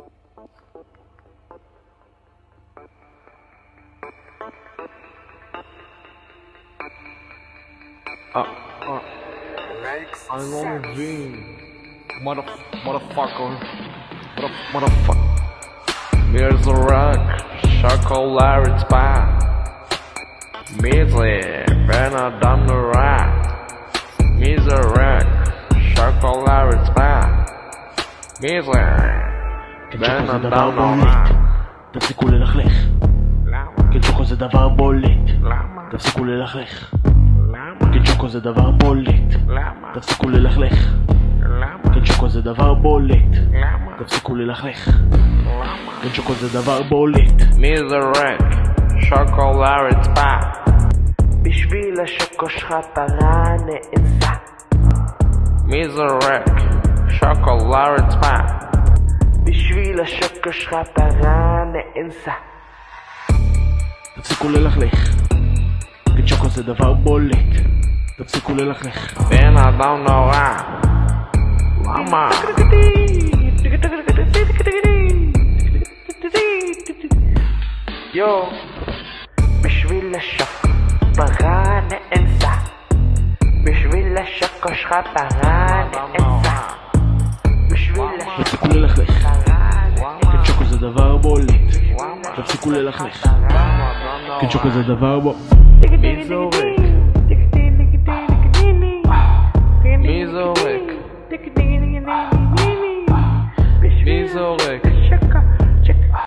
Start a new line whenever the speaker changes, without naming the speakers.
I don't mean motherfucker. Here's the rock, chocolate spot. Measly, better than the rock. Measly rock, chocolate spot. Measly, better than the rock.
תפסיקו ללכלך.
למה?
קינצ'וקו זה דבר בולט.
למה?
תפסיקו ללכלך.
למה?
קינצ'וקו זה דבר בולט.
למה?
תפסיקו ללכלך.
למה?
קינצ'וקו זה דבר בולט.
למה?
תפסיקו ללכלך.
למה?
קינצ'וקו זה דבר בולט.
Measly rock, chocolate spot.
בשביל השוקו שלך פרה נאנסה.
Measly rock, chocolate spot.
בשביל השוקו שלך פרה נאנסה.
תפסיקו ללכלך. קינצ'וקו זה דבר בולט. תפסיקו ללכלך.
בן אדם נורא. למה?
יו, בשביל השוקו פרה נאנסה. בשביל השוקו שלך פרה נאנסה. בשביל
תפסיקו
השוקו
ללכלך.
פרה נאנסה.
קינצ'וקו זה דבר בולט. תפסיקו ללכלך. קינצ'וקו זה דבר בולט.
Measly